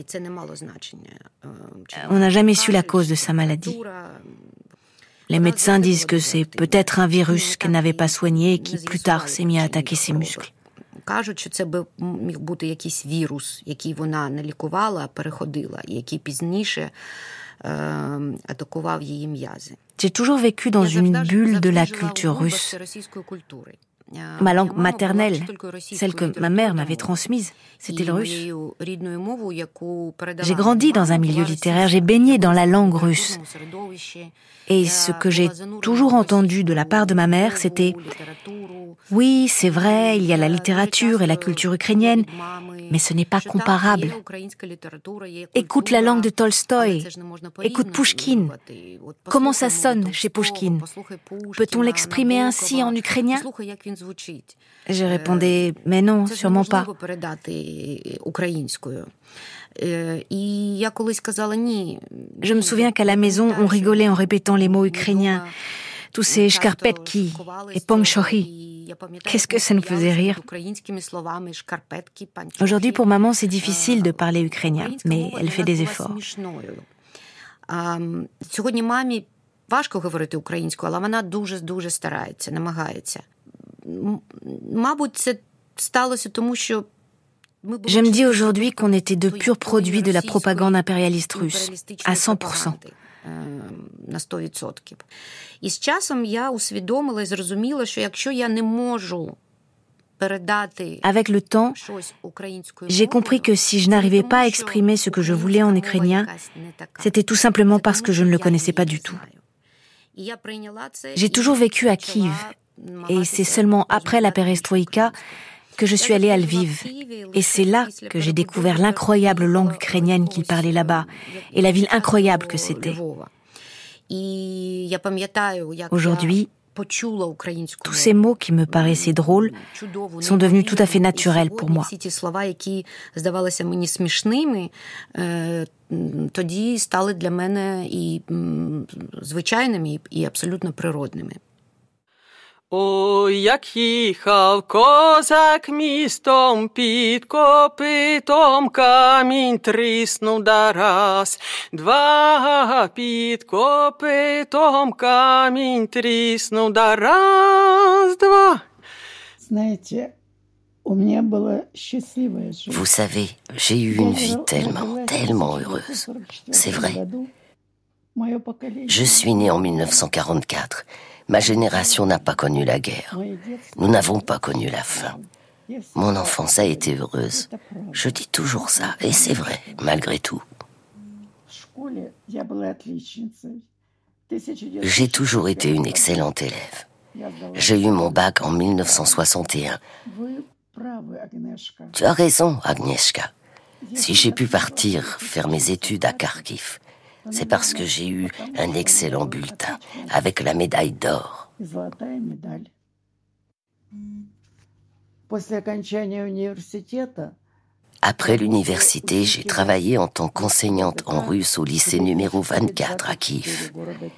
On n'a jamais su la cause de sa maladie. Les médecins disent que c'est peut-être un virus qu'elle n'avait pas soigné et qui plus tard s'est mis à attaquer ses muscles. Кажуть, що це би міг бути якийсь вірус, який вона не лікувала, а переходила, і який пізніше е, атакував її м'язи. J'ai toujours vécu dans une bulle de la culture russe. Ma langue maternelle, celle que ma mère m'avait transmise, c'était le russe. J'ai grandi dans un milieu littéraire, j'ai baigné dans la langue russe. Et ce que j'ai toujours entendu de la part de ma mère, c'était « Oui, c'est vrai, il y a la littérature et la culture ukrainienne, mais ce n'est pas comparable. Écoute la langue de Tolstoï, écoute Pouchkine. Comment ça sonne chez Pouchkine? Peut-on l'exprimer ainsi en ukrainien ?» Je répondais « Mais non, sûrement pas. » Je me souviens qu'à la maison, on rigolait en répétant les mots ukrainiens. Tous ces shkarpetki et pongchohi. Qu'est-ce que ça nous faisait rire? Aujourd'hui, pour maman, c'est difficile de parler ukrainien, mais elle fait des efforts. Сьогодні мамі важко говорити українською, але вона дуже-дуже старається, намагається. Мабуть, це сталося тому, що Je me dis aujourd'hui qu'on était de purs produits de la propagande impérialiste russe, à cent pour cent. На сто відсотків. І з часом я усвідомила і зрозуміла, що якщо я не можу передати Avec le temps, j'ai compris que si je n'arrivais pas à exprimer ce que je voulais en ukrainien, c'était tout simplement parce que je ne le connaissais pas du tout. J'ai toujours vécu à Kiev, et c'est seulement après la perestroïka que je suis allée à Lviv. Et c'est là que j'ai découvert l'incroyable langue ukrainienne qu'ils parlaient là-bas, et la ville incroyable que c'était. Aujourd'hui, tous ces mots qui me paraissaient drôles sont devenus tout à fait naturels pour moi. Тоді стали для мене і звичайними, і абсолютно природними. Ой, як їхав козак містом, під копитом камінь тріснув да раз, два, під копитом камінь тріснув да раз, два. Знаєте, у мене була щаслива життя. Vous savez, j'ai eu une vie tellement, tellement heureuse. C'est vrai. Je suis née en mille neuf cent quarante-quatre. Ma génération n'a pas connu la guerre. Nous n'avons pas connu la faim. Mon enfance a été heureuse. Je dis toujours ça, et c'est vrai, malgré tout. J'ai toujours été une excellente élève. J'ai eu mon bac en mille neuf cent soixante et un. Tu as raison, Agnieszka. Si j'ai pu partir faire mes études à Kharkiv, c'est parce que j'ai eu un excellent bulletin avec la médaille d'or. Après l'université, j'ai travaillé en tant qu'enseignante en russe au lycée numéro vingt-quatre à Kiev.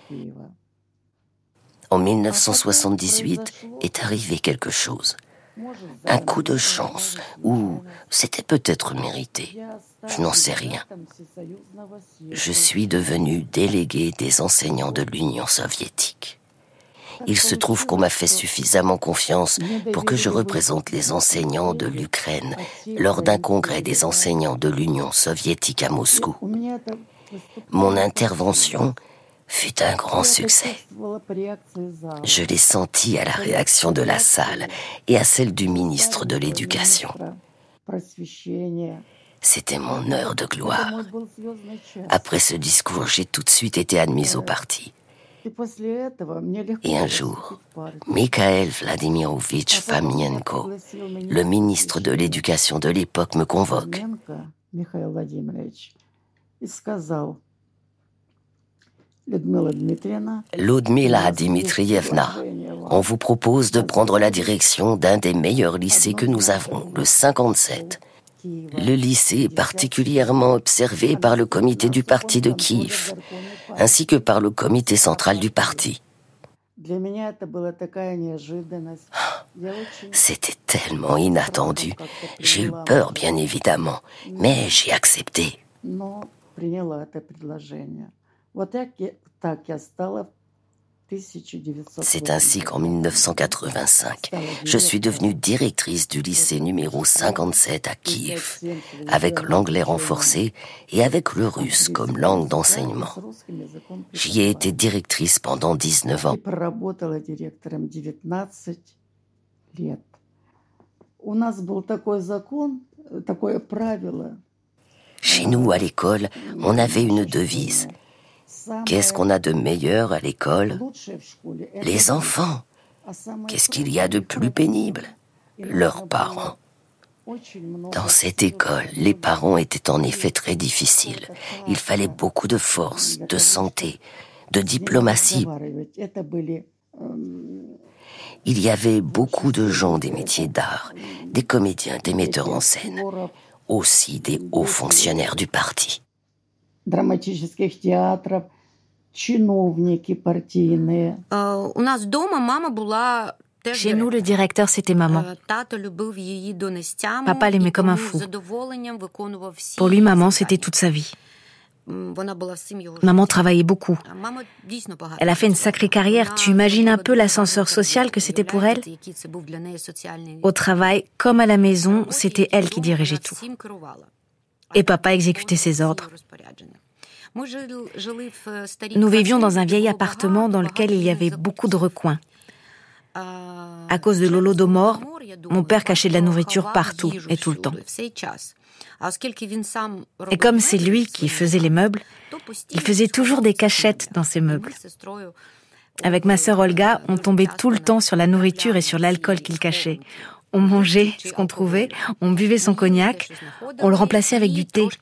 En mille neuf cent soixante-dix-huit est arrivé quelque chose. Un coup de chance, ou c'était peut-être mérité. Je n'en sais rien. Je suis devenu délégué des enseignants de l'Union soviétique. Il se trouve qu'on m'a fait suffisamment confiance pour que je représente les enseignants de l'Ukraine lors d'un congrès des enseignants de l'Union soviétique à Moscou. Mon intervention fut un grand succès. Je l'ai senti à la réaction de la salle et à celle du ministre de l'Éducation. C'était mon heure de gloire. Après ce discours, j'ai tout de suite été admise au parti. Et un jour, Mikhail Vladimirovitch Fomenko, le ministre de l'Éducation de l'époque, me convoque. Ludmila Dmitrievna, on vous propose de prendre la direction d'un des meilleurs lycées que nous avons, le cinquante-sept. Le lycée est particulièrement observé par le comité du parti de Kiev, ainsi que par le comité central du parti. C'était tellement inattendu. J'ai eu peur, bien évidemment, mais j'ai accepté. C'est ainsi qu'en mille neuf cent quatre-vingt-cinq, je suis devenue directrice du lycée numéro cinquante-sept à Kiev, avec l'anglais renforcé et avec le russe comme langue d'enseignement. J'y ai été directrice pendant dix-neuf ans. Chez nous, à l'école, on avait une devise. Qu'est-ce qu'on a de meilleur à l'école? Les enfants. Qu'est-ce qu'il y a de plus pénible? Leurs parents. Dans cette école, les parents étaient en effet très difficiles. Il fallait beaucoup de force, de santé, de diplomatie. Il y avait beaucoup de gens des métiers d'art, des comédiens, des metteurs en scène, aussi des hauts fonctionnaires du parti. Драматических театров, чиновники партийные. У нас дома мама була. Chez nous, le directeur, c'était maman. Papa l'aimait comme un fou. Pour lui, maman, c'était toute sa vie. Maman travaillait beaucoup. Elle a fait une sacrée carrière. Tu imagines un peu l'ascenseur social que c'était pour elle? Au travail, comme à la maison, c'était elle qui dirigeait tout. Et papa exécutait ses ordres. Nous vivions dans un vieil appartement dans lequel il y avait beaucoup de recoins. À cause de l'Holodomor, mon père cachait de la nourriture partout et tout le temps. Et comme c'est lui qui faisait les meubles, il faisait toujours des cachettes dans ses meubles. Avec ma sœur Olga, on tombait tout le temps sur la nourriture et sur l'alcool qu'il cachait. On mangeait ce qu'on trouvait, on buvait son cognac, on le remplaçait avec du thé.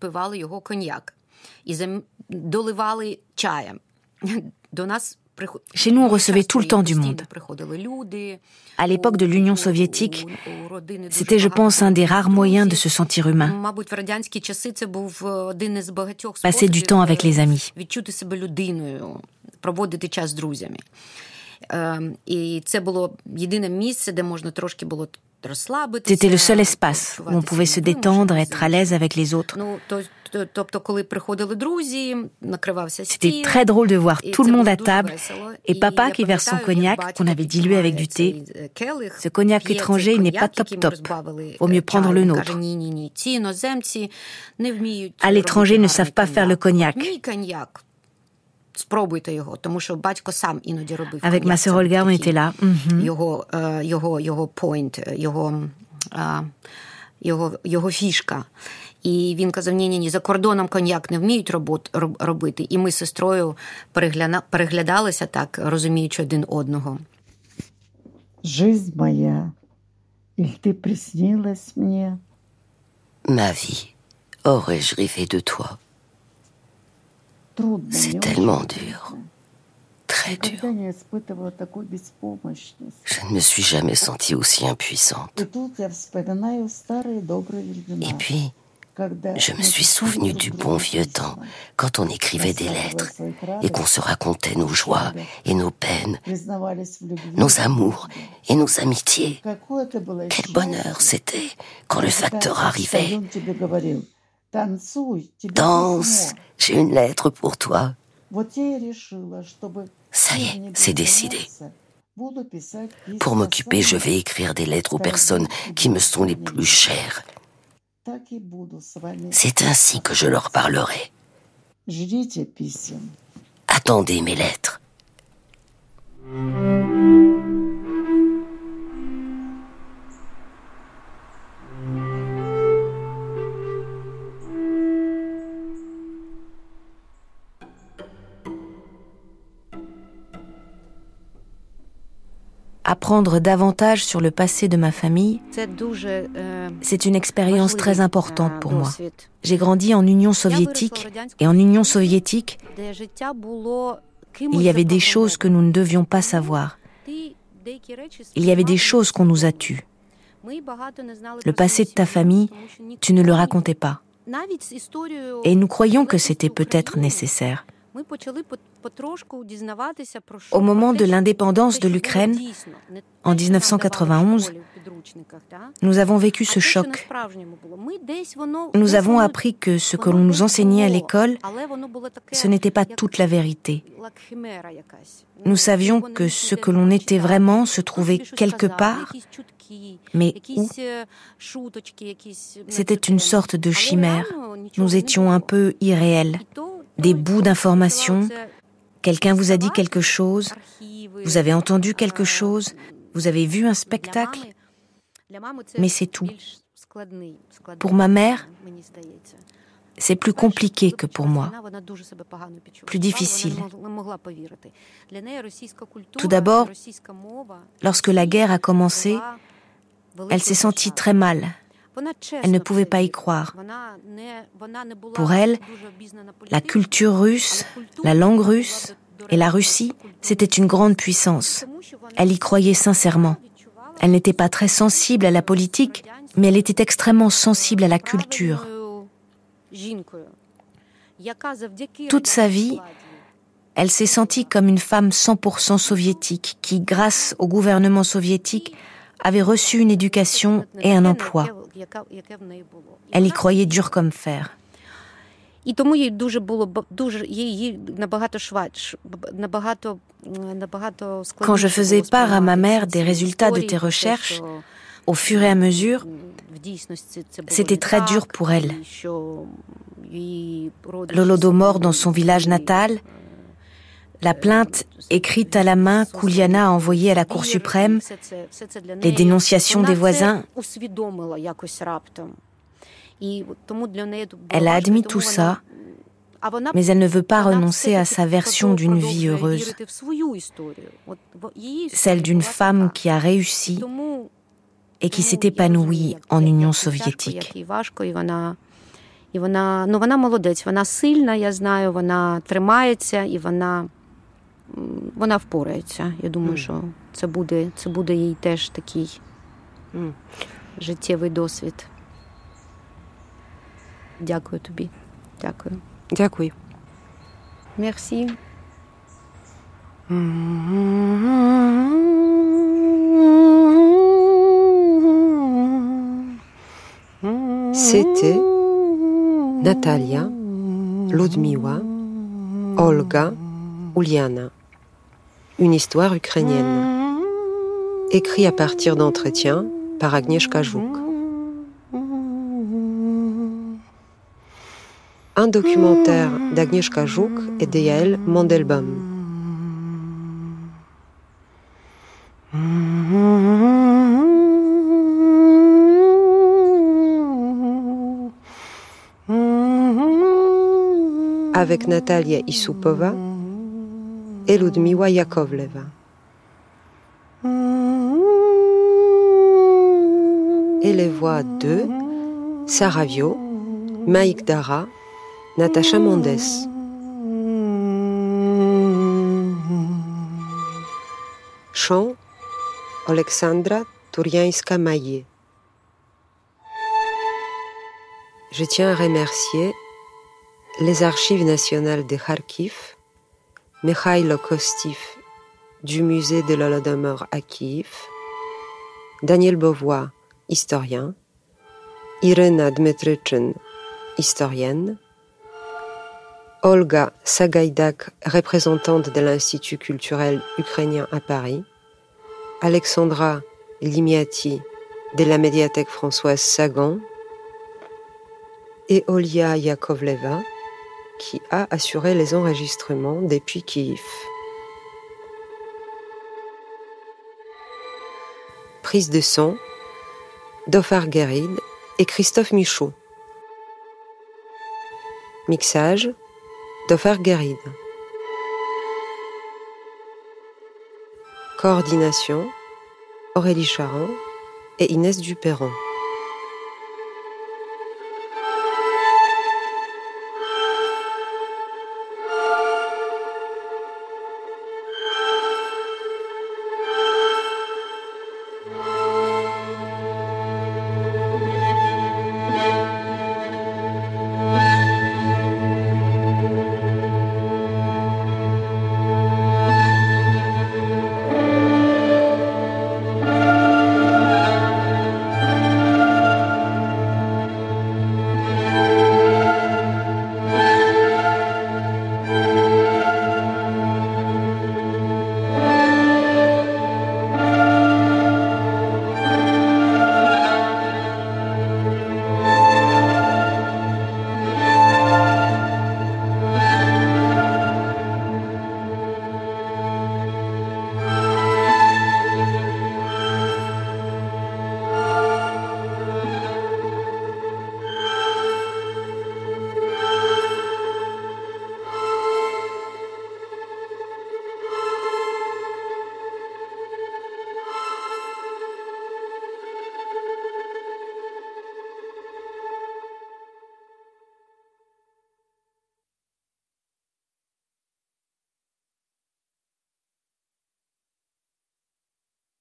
Chez nous, on recevait tout le temps du monde. À l'époque de l'Union soviétique, c'était, je pense, un des rares moyens de se sentir humain. Passer du temps avec les amis. C'était le seul espace où on pouvait se détendre, être à l'aise avec les autres. C'était très drôle de voir tout le monde à table et papa qui verse son cognac qu'on avait dilué avec du thé. Ce cognac étranger, il n'est pas top-top. Vaut mieux prendre le nôtre. À l'étranger, ils ne savent pas faire le cognac. Avec ma sœur Olga, on était là. І він казав, ні-ні-ні, за кордоном коньяк не вміють робот, робити. І ми з сестрою перегля... переглядалися так, розуміючи один одного. Жизнь моя, il t'est приснилась мне. Ma vie, aurais-je rêvé de toi? C'est tellement dur, très dur. Je ne me suis jamais sentie aussi impuissante. Et puis, je me suis souvenue du bon vieux temps, quand on écrivait des lettres et qu'on se racontait nos joies et nos peines, nos amours et nos amitiés. Quel bonheur c'était quand le facteur arrivait. Danse, j'ai une lettre pour toi. Ça y est, c'est décidé. Pour m'occuper, je vais écrire des lettres aux personnes qui me sont les plus chères. C'est ainsi que je leur parlerai. Attendez mes lettres. Apprendre davantage sur le passé de ma famille, c'est une expérience très importante pour moi. J'ai grandi en Union soviétique, et en Union soviétique, il y avait des choses que nous ne devions pas savoir. Il y avait des choses qu'on nous a tues. Le passé de ta famille, tu ne le racontais pas. Et nous croyions que c'était peut-être nécessaire. Au moment de l'indépendance de l'Ukraine, en dix-neuf cent quatre-vingt-onze, nous avons vécu ce choc. Nous avons appris que ce que l'on nous enseignait à l'école, ce n'était pas toute la vérité. Nous savions que ce que l'on était vraiment se trouvait quelque part, mais où? C'était une sorte de chimère. Nous étions un peu irréels. Des bouts d'informations, quelqu'un vous a dit quelque chose, vous avez entendu quelque chose, vous avez vu un spectacle, mais c'est tout. Pour ma mère, c'est plus compliqué que pour moi, plus difficile. Tout d'abord, lorsque la guerre a commencé, elle s'est sentie très mal. Elle ne pouvait pas y croire. Pour elle, la culture russe, la langue russe et la Russie, c'était une grande puissance. Elle y croyait sincèrement. Elle n'était pas très sensible à la politique, mais elle était extrêmement sensible à la culture. Toute sa vie, elle s'est sentie comme une femme cent pour cent soviétique qui, grâce au gouvernement soviétique, avait reçu une éducation et un emploi. Elle y croyait dur comme fer. Quand je faisais part à ma mère des résultats de tes recherches, au fur et à mesure, c'était très dur pour elle. L'Holodomor dans son village natal, la plainte écrite à la main qu'Uliana a envoyée à la Cour suprême, les dénonciations des voisins. Elle a admis tout ça, mais elle ne veut pas renoncer à sa version d'une vie heureuse, celle d'une femme qui a réussi et qui s'est épanouie en Union soviétique. І вона, ну, вона молодець, вона сильна, я знаю, вона тримається, і вона, вона впорається. Я думаю, mm. що це буде, це буде їй теж такий mm. життєвий досвід. Дякую тобі. Дякую. Дякую. Merci. C'était Natalia, Ludmiła, Olga, Uliana. Une histoire ukrainienne. Écrit à partir d'entretiens par Agnieszka Żuk. Un documentaire d'Agnieszka Żuk et de Yael Mandelbaum. Avec Natalia Isupova et Ludmiła Yakovleva. et les voix de Sarah Vio, Maïk Dara, Natacha Mondes. Chant Alexandra Turianska-Maillet. Je tiens à remercier les Archives nationales de Kharkiv, Mikhailo Kostiv du musée de l'Holodomor à Kiev, Daniel Beauvois, historien, Irena Dmitrichyn, historienne, Olga Sagaidak, représentante de l'Institut culturel ukrainien à Paris, Alexandra Limiati de la médiathèque Françoise Sagan et Olia Yakovleva qui a assuré les enregistrements depuis Kiev. Prise de son, Dofar Guérid et Christophe Michaud. Mixage, Dofar Guérid. Coordination, Aurélie Charan et Inès Dupéron.